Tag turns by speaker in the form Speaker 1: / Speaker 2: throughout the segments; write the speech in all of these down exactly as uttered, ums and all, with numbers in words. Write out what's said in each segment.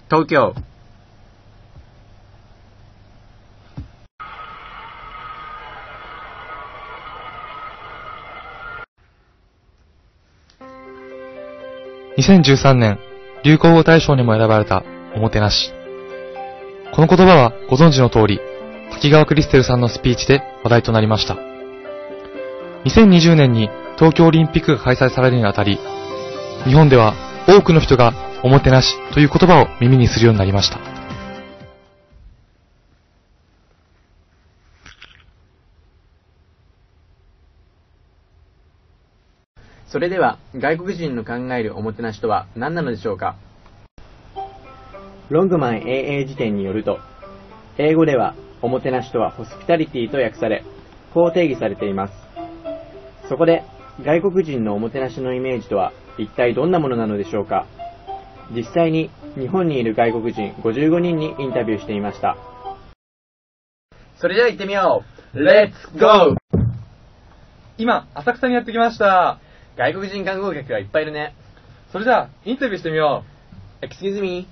Speaker 1: 東京。
Speaker 2: にせんじゅうさんねん流行語大賞にも選ばれたおもてなし。この言葉はご存知の通り、滝川クリステルさんのスピーチで話題となりました。にせんにじゅうねんに東京オリンピックが開催されるにあたり、日本では多くの人がおもてなしという言葉を耳にするようになりました。
Speaker 1: それでは外国人の考えるおもてなしとは何なのでしょうか。ロングマン エーエー 辞典によると、英語ではおもてなしとはホスピタリティと訳され、こう定義されています。そこで外国人のおもてなしのイメージとは一体どんなものなのでしょうか。実際に日本にいる外国人ごじゅうごにんにインタビューしていました。それでは行ってみよう。レッツゴー。
Speaker 2: 今浅草にやってきました。
Speaker 1: 外国人観光客がいっぱいいるね。
Speaker 2: それじゃあインタビューしてみよ
Speaker 1: う。Excuse me.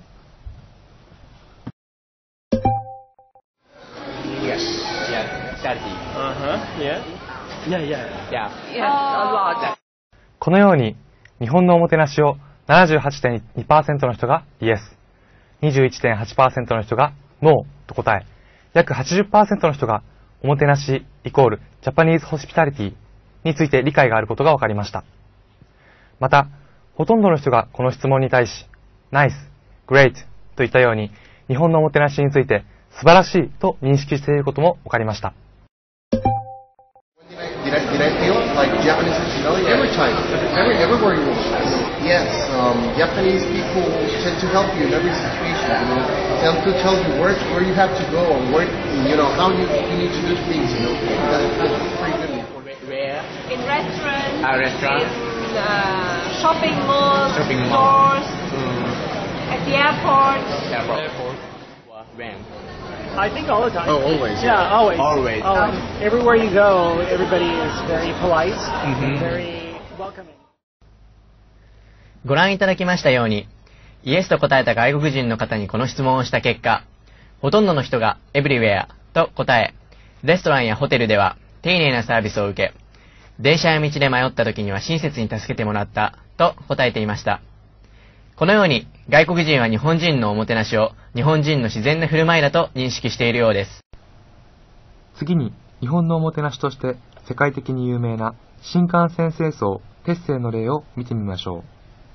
Speaker 1: Yes. Yes. Charity.
Speaker 3: Uh-huh. Yeah. Yeah, yeah.
Speaker 1: Yeah. Yes. A lot.
Speaker 2: このように日本のおもてなしを ななじゅうはちてんにパーセント の人が Yes、にじゅういちてんはちパーセント の人が No と答え、約 はちじゅっパーセント の人がおもてなしイコールジャパニーズホスピタリティについて理解があることが分かりました。また、ほとんどの人がこの質問に対し、Nice、Great といったように日本のおもてなしについて素晴らしいと認識していることも分かりました。
Speaker 4: Did I, did I feel like Japanese hospitality every time, every, everywhere you go? Yes, um, Japanese people tend to help you in every situation, you know, tend to tell you where, where you have to go and where, you know, how you, you need to do things, you know. That's, that's pretty good.
Speaker 5: Where? In restaurants,
Speaker 1: uh, restaurant.
Speaker 5: in uh, shopping malls,
Speaker 1: shopping
Speaker 5: stores,
Speaker 1: mm.
Speaker 5: at the airport.
Speaker 1: Airport. Airport. When?
Speaker 3: I think all the time.
Speaker 1: Oh, always.
Speaker 3: Yeah, always.
Speaker 1: Always.
Speaker 3: always. Everywhere you go, everybody is very polite,
Speaker 1: mm-hmm.
Speaker 3: very welcoming.
Speaker 1: ご覧いただきましたように、イエスと答えた外国人の方にこの質問をした結果、ほとんどの人が Everywhere と答え、レストランやホテルでは丁寧なサービスを受け、電車や道で迷った時には親切に助けてもらったと答えていました。このように外国人は日本人のおもてなしを日本人の自然な振る舞いだと認識しているようです。
Speaker 2: 次に日本のおもてなしとして世界的に有名な新幹線清掃鉄星の例を見てみましょう。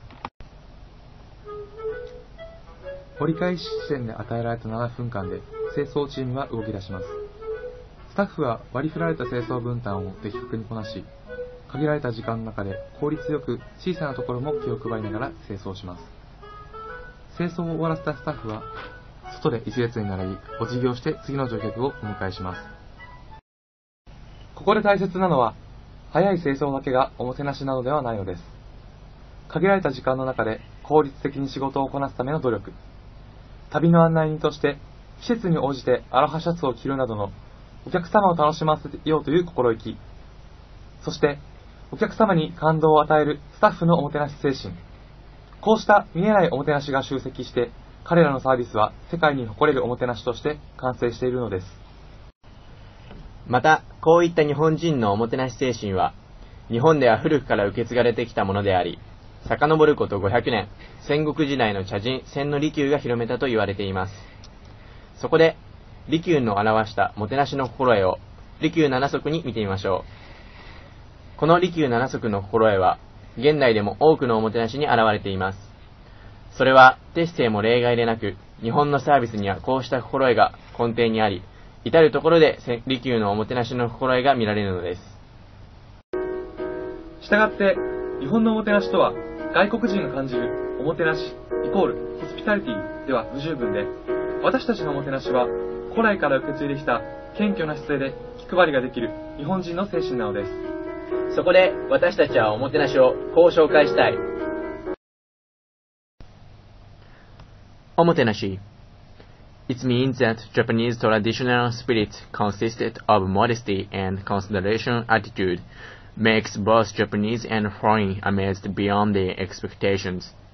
Speaker 2: 折り返し地点で与えられたななふんかんで清掃チームが動き出します。スタッフは割り振られた清掃分担を的確にこなし、限られた時間の中で効率よく小さなところも気を配りながら清掃します。清掃を終わらせたスタッフは外で一列に並びお辞儀をして次の乗客をお迎えします。ここで大切なのは早い清掃だけがおもてなしなのではないのです。限られた時間の中で効率的に仕事をこなすための努力、旅の案内人として季節に応じてアロハシャツを着るなどのお客様を楽しませようという心意気、そしてお客様に感動を与えるスタッフのおもてなし精神、こうした見えないおもてなしが集積して彼らのサービスは世界に誇れるおもてなしとして完成しているのです。
Speaker 1: またこういった日本人のおもてなし精神は日本では古くから受け継がれてきたものであり、遡ることごひゃくねん、戦国時代の茶人千利休が広めたと言われています。そこで利休の表したもてなしの心得を利休七則に見てみましょう。この利休七則の心得は現代でも多くのおもてなしに現れています。それは鉄星も例外でなく、日本のサービスにはこうした心得が根底にあり、至るところで利休のおもてなしの心得が見られるのです。
Speaker 2: したがって日本のおもてなしとは外国人が感じるおもてなしイコールホスピタリティでは不十分で、私たちのおもてなしは古来から受け継いできた謙虚な姿勢で気配りができる日本人の精神なのです。
Speaker 1: そこで私たちはおもてなしをこう紹介したい。おもてなし。It means that Japanese traditional spirit consisted of modesty and consideration attitude makes both Japanese and foreign amazed beyond their expectations.